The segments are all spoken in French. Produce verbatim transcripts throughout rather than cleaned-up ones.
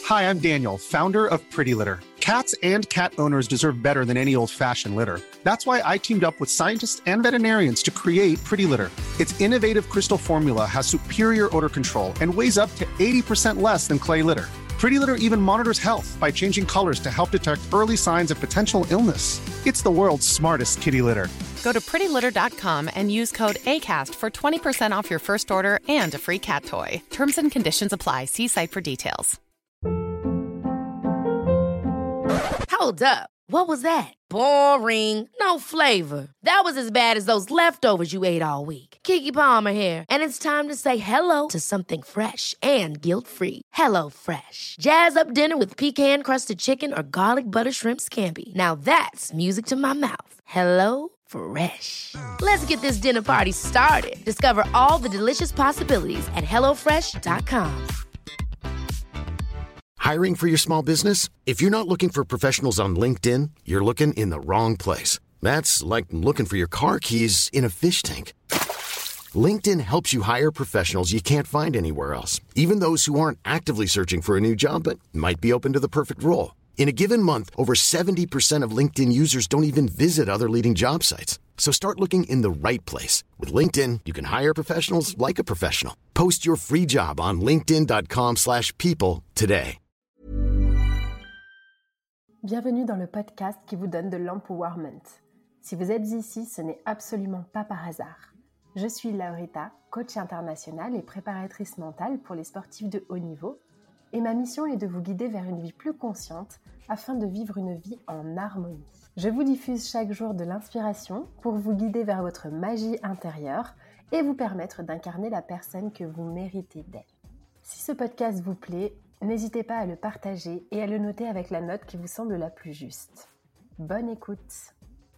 Hi, I'm Daniel, founder of Pretty Litter. Cats and cat owners deserve better than any old-fashioned litter. That's why I teamed up with scientists and veterinarians to create Pretty Litter. Its innovative crystal formula has superior odor control and weighs up to eighty percent less than clay litter. Pretty Litter even monitors health by changing colors to help detect early signs of potential illness. It's the world's smartest kitty litter. Go to pretty litter dot com and use code ACAST for twenty percent off your first order and a free cat toy. Terms and conditions apply. See site for details. Hold up. What was that? Boring. No flavor. That was as bad as those leftovers you ate all week. Keke Palmer here, and it's time to say hello to something fresh and guilt-free. Hello Fresh. Jazz up dinner with pecan-crusted chicken or garlic butter shrimp scampi. Now that's music to my mouth. Hello Fresh. Let's get this dinner party started. Discover all the delicious possibilities at hello fresh dot com. Hiring for your small business? If you're not looking for professionals on LinkedIn, you're looking in the wrong place. That's like looking for your car keys in a fish tank. LinkedIn helps you hire professionals you can't find anywhere else, even those who aren't actively searching for a new job but might be open to the perfect role. In a given month, over seventy percent of LinkedIn users don't even visit other leading job sites. So start looking in the right place. With LinkedIn, you can hire professionals like a professional. Post your free job on linkedin dot com slash people today. Bienvenue dans le podcast qui vous donne de l'empowerment. Si vous êtes ici, ce n'est absolument pas par hasard. Je suis Laurita, coach internationale et préparatrice mentale pour les sportifs de haut niveau, et ma mission est de vous guider vers une vie plus consciente afin de vivre une vie en harmonie. Je vous diffuse chaque jour de l'inspiration pour vous guider vers votre magie intérieure et vous permettre d'incarner la personne que vous méritez d'être. Si ce podcast vous plaît, n'hésitez pas à le partager et à le noter avec la note qui vous semble la plus juste. Bonne écoute!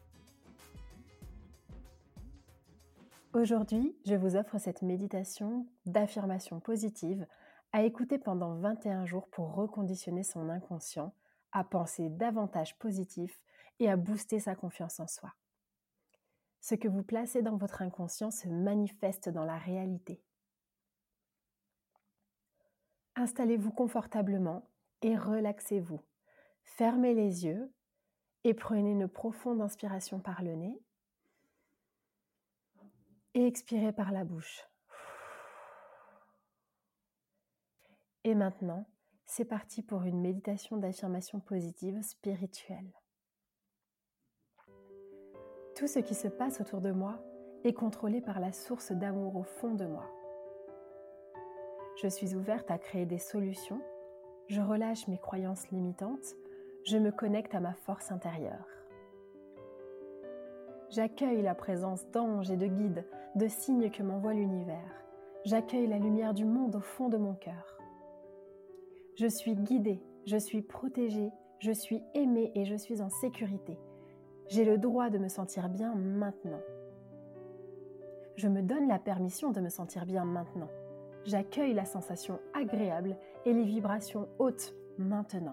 Aujourd'hui, je vous offre cette méditation d'affirmation positive à écouter pendant vingt et un jours pour reconditionner son inconscient, à penser davantage positif et à booster sa confiance en soi. Ce que vous placez dans votre inconscient se manifeste dans la réalité. Installez-vous confortablement et relaxez-vous. Fermez les yeux et prenez une profonde inspiration par le nez et expirez par la bouche. Et maintenant, c'est parti pour une méditation d'affirmation positive spirituelle. Tout ce qui se passe autour de moi est contrôlé par la source d'amour au fond de moi. Je suis ouverte à créer des solutions, je relâche mes croyances limitantes, je me connecte à ma force intérieure. J'accueille la présence d'anges et de guides, de signes que m'envoie l'univers. J'accueille la lumière du monde au fond de mon cœur. Je suis guidée, je suis protégée, je suis aimée et je suis en sécurité. J'ai le droit de me sentir bien maintenant. Je me donne la permission de me sentir bien maintenant. J'accueille la sensation agréable et les vibrations hautes maintenant.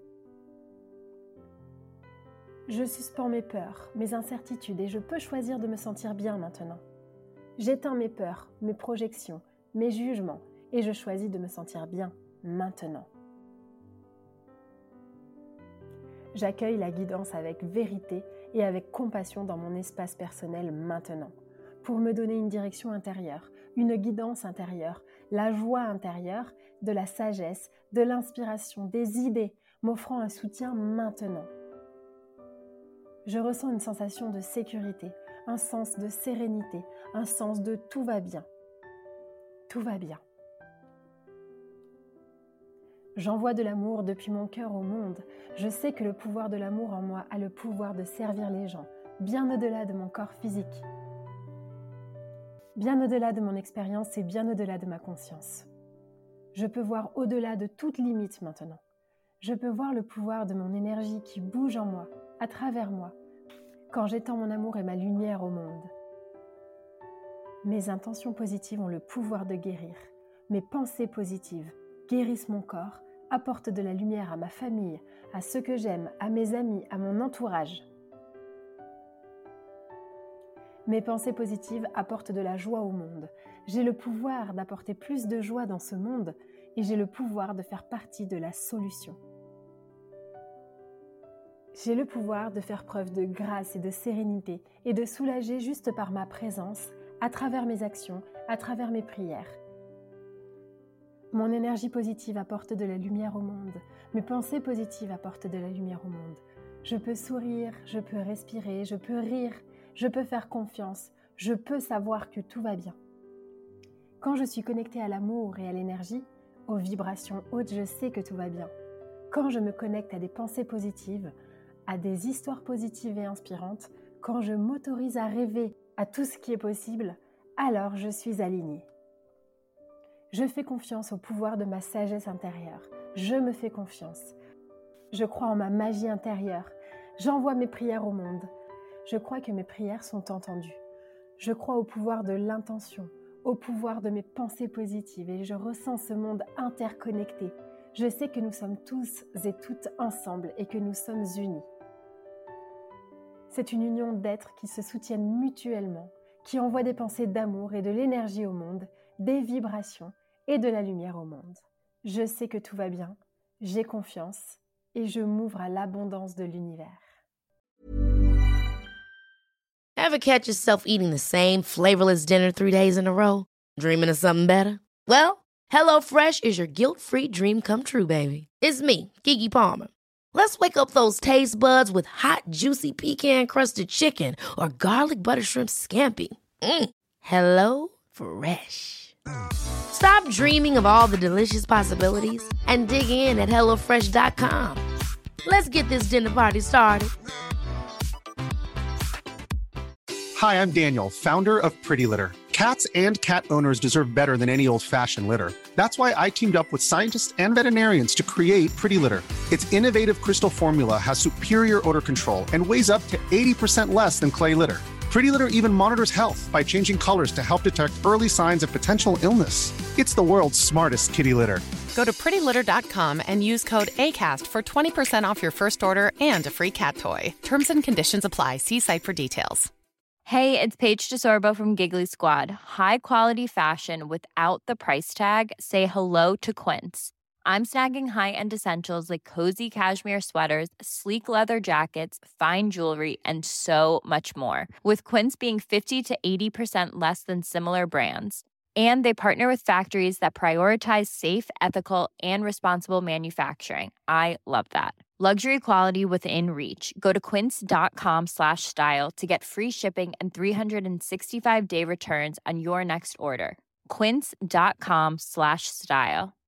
Je suspends mes peurs, mes incertitudes et je peux choisir de me sentir bien maintenant. J'éteins mes peurs, mes projections, mes jugements et je choisis de me sentir bien maintenant. J'accueille la guidance avec vérité et avec compassion dans mon espace personnel maintenant, pour me donner une direction intérieure, une guidance intérieure, la joie intérieure, de la sagesse, de l'inspiration, des idées, m'offrant un soutien maintenant. Je ressens une sensation de sécurité, un sens de sérénité, un sens de tout va bien. Tout va bien. J'envoie de l'amour depuis mon cœur au monde. Je sais que le pouvoir de l'amour en moi a le pouvoir de servir les gens, bien au-delà de mon corps physique. Bien au-delà de mon expérience et bien au-delà de ma conscience. Je peux voir au-delà de toute limite maintenant. Je peux voir le pouvoir de mon énergie qui bouge en moi, à travers moi, quand j'étends mon amour et ma lumière au monde. Mes intentions positives ont le pouvoir de guérir. Mes pensées positives guérissent mon corps, apportent de la lumière à ma famille, à ceux que j'aime, à mes amis, à mon entourage. Mes pensées positives apportent de la joie au monde. J'ai le pouvoir d'apporter plus de joie dans ce monde et j'ai le pouvoir de faire partie de la solution. J'ai le pouvoir de faire preuve de grâce et de sérénité et de soulager juste par ma présence, à travers mes actions, à travers mes prières. Mon énergie positive apporte de la lumière au monde. Mes pensées positives apportent de la lumière au monde. Je peux sourire, je peux respirer, je peux rire, je peux faire confiance, je peux savoir que tout va bien. Quand je suis connectée à l'amour et à l'énergie, aux vibrations hautes, je sais que tout va bien. Quand je me connecte à des pensées positives, à des histoires positives et inspirantes, quand je m'autorise à rêver à tout ce qui est possible, alors je suis alignée. Je fais confiance au pouvoir de ma sagesse intérieure. Je me fais confiance. Je crois en ma magie intérieure. J'envoie mes prières au monde. Je crois que mes prières sont entendues. Je crois au pouvoir de l'intention, au pouvoir de mes pensées positives et je ressens ce monde interconnecté. Je sais que nous sommes tous et toutes ensemble et que nous sommes unis. C'est une union d'êtres qui se soutiennent mutuellement, qui envoient des pensées d'amour et de l'énergie au monde, des vibrations et de la lumière au monde. Je sais que tout va bien, j'ai confiance et je m'ouvre à l'abondance de l'univers. Ever catch yourself eating the same flavorless dinner three days in a row? Dreaming of something better? Well, HelloFresh is your guilt-free dream come true, baby. It's me, Keke Palmer. Let's wake up those taste buds with hot, juicy pecan-crusted chicken or garlic butter shrimp scampi. Mm. Hello Fresh. Stop dreaming of all the delicious possibilities and dig in at hello fresh dot com. Let's get this dinner party started. Hi, I'm Daniel, founder of Pretty Litter. Cats and cat owners deserve better than any old-fashioned litter. That's why I teamed up with scientists and veterinarians to create Pretty Litter. Its innovative crystal formula has superior odor control and weighs up to eighty percent less than clay litter. Pretty Litter even monitors health by changing colors to help detect early signs of potential illness. It's the world's smartest kitty litter. Go to pretty litter dot com and use code ACAST for twenty percent off your first order and a free cat toy. Terms and conditions apply. See site for details. Hey, it's Paige DeSorbo from Giggly Squad. High quality fashion without the price tag. Say hello to Quince. I'm snagging high-end essentials like cozy cashmere sweaters, sleek leather jackets, fine jewelry, and so much more. With Quince being fifty to eighty percent less than similar brands. And they partner with factories that prioritize safe, ethical, and responsible manufacturing. I love that. Luxury quality within reach. Go to quince.com slash style to get free shipping and three sixty-five day returns on your next order. Quince.com slash style.